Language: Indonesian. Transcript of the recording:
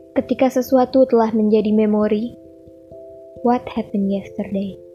Ketika sesuatu telah menjadi memori, what happened yesterday?